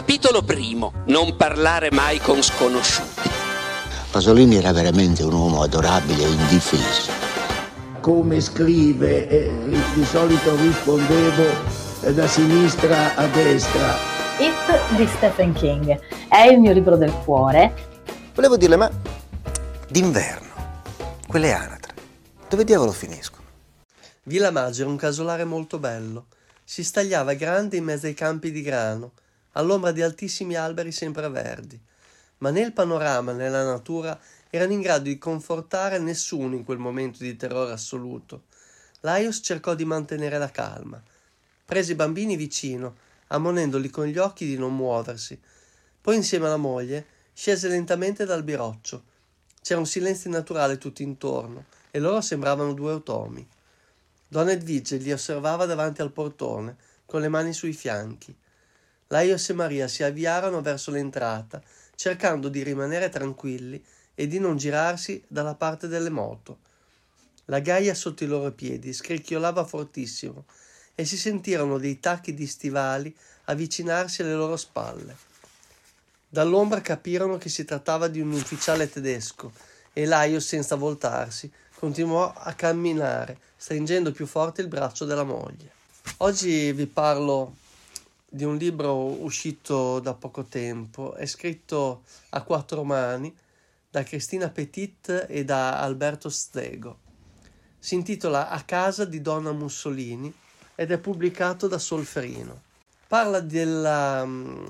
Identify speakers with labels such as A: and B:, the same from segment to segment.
A: Capitolo primo. Non parlare mai con sconosciuti.
B: Pasolini era veramente un uomo adorabile e indifeso.
C: Come scrive, di solito rispondevo da sinistra a destra.
D: It di Stephen King è il mio libro del cuore.
E: Volevo dirle, ma d'inverno, quelle anatre, dove diavolo finiscono?
F: Villa Maggio era un casolare molto bello. Si stagliava grande in mezzo ai campi di grano, all'ombra di altissimi alberi sempreverdi. Ma né il panorama né la natura erano in grado di confortare nessuno in quel momento di terrore assoluto. Laios cercò di mantenere la calma. Prese i bambini vicino, ammonendoli con gli occhi di non muoversi. Poi insieme alla moglie scese lentamente dal biroccio. C'era un silenzio naturale tutto intorno e loro sembravano due automi. Donna Edvige li osservava davanti al portone, con le mani sui fianchi. Laios e Maria si avviarono verso l'entrata, cercando di rimanere tranquilli e di non girarsi dalla parte delle moto. La ghiaia sotto i loro piedi scricchiolava fortissimo e si sentirono dei tacchi di stivali avvicinarsi alle loro spalle. Dall'ombra capirono che si trattava di un ufficiale tedesco e Laios, senza voltarsi, continuò a camminare, stringendo più forte il braccio della moglie. Oggi vi parlo di un libro uscito da poco tempo, è scritto a quattro mani da Cristina Petit e da Alberto Stego. Si intitola A casa di Donna Mussolini ed è pubblicato da Solferino. Parla della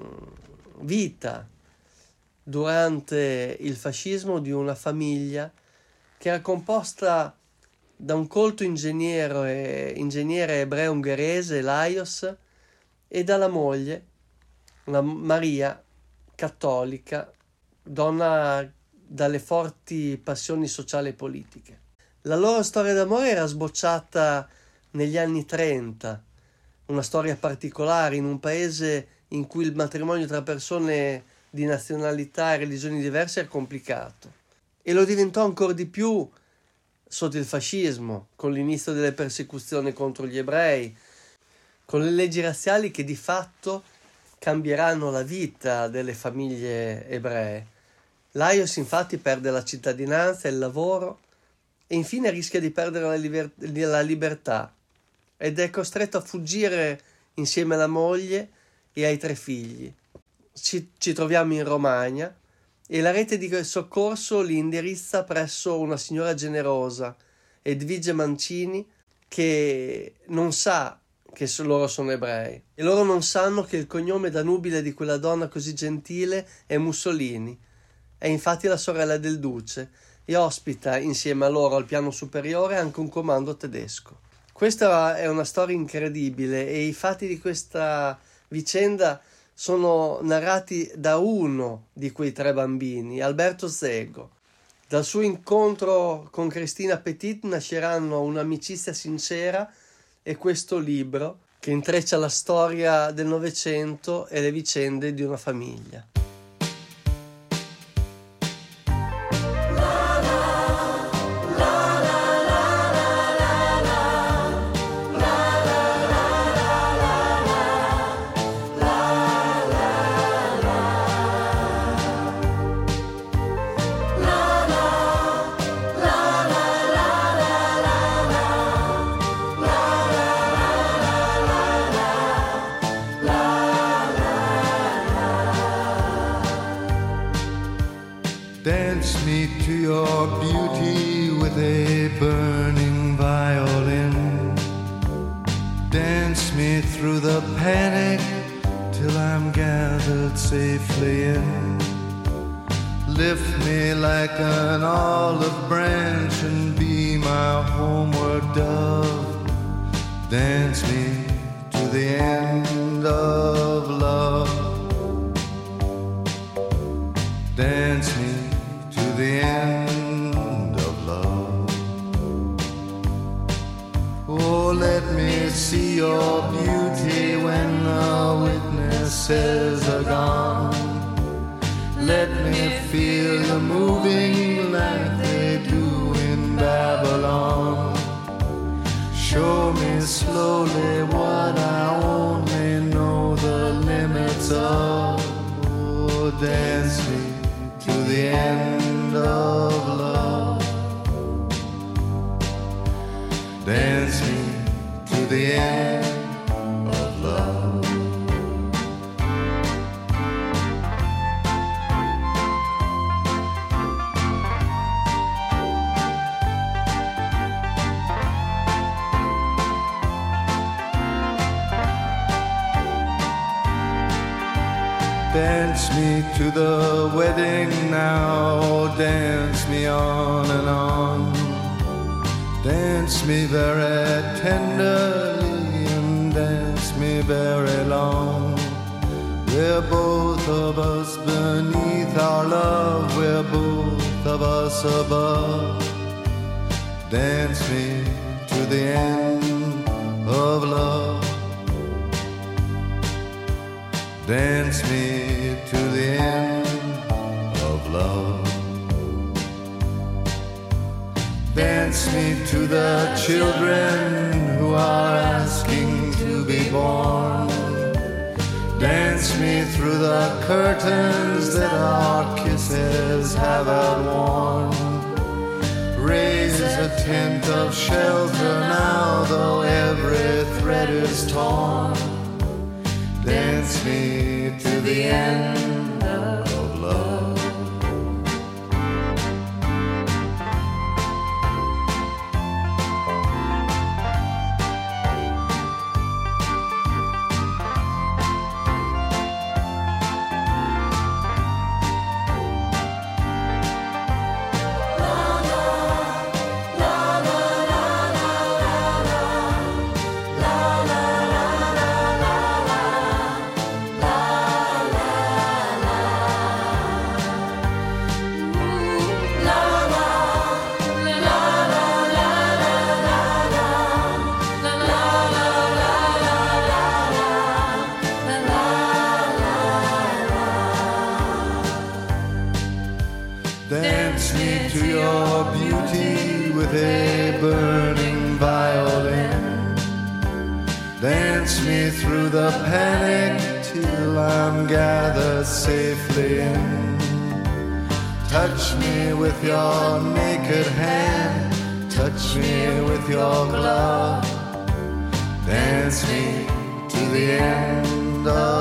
F: vita durante il fascismo di una famiglia che era composta da un colto ingegnere ebreo ungherese, Laios, e dalla moglie, una Maria, cattolica, donna dalle forti passioni sociali e politiche. La loro storia d'amore era sbocciata negli anni 30, una storia particolare in un paese in cui il matrimonio tra persone di nazionalità e religioni diverse era complicato. E lo diventò ancora di più sotto il fascismo, con l'inizio delle persecuzioni contro gli ebrei, con le leggi razziali che di fatto cambieranno la vita delle famiglie ebree. Laios infatti perde la cittadinanza, il lavoro e infine rischia di perdere la libertà ed è costretto a fuggire insieme alla moglie e ai tre figli. Ci troviamo in Romagna e la rete di soccorso li indirizza presso una signora generosa, Edvige Mancini, che non sa che loro sono ebrei e loro non sanno che il cognome da nubile di quella donna così gentile è Mussolini. È infatti la sorella del duce e ospita insieme a loro al piano superiore anche un comando tedesco. Questa è una storia incredibile e i fatti di questa vicenda sono narrati da uno di quei tre bambini, Alberto Stego. Dal suo incontro con Cristina Petit nasceranno un'amicizia sincera e questo libro che intreccia la storia del Novecento e le vicende di una famiglia.
G: Dance me to your beauty with a burning violin. Dance me through the panic till I'm gathered safely in. Lift me like an olive branch and be my homeward dove. Dance me to the end of love. Dance me to the end of love. Oh, let me see your beauty when the witnesses are gone. Let me feel you moving like they do in Babylon. Show me slowly what I only know the limits of. Dance me to the wedding now, dance me on and on. Dance me very tenderly and dance me very long. We're both of us beneath our love, we're both of us above. Dance me to the end of love. Dance me to the end of love. Dance me to the children who are asking to be born. Dance me through the curtains that our kisses have outworn. Raise a tent of shelter now, though every thread is torn. Dance me to the end of love. Dance me to your beauty with a burning violin. Dance me through the panic till I'm gathered safely in. Touch me with your naked hand, touch me with your glove. Dance me to the end of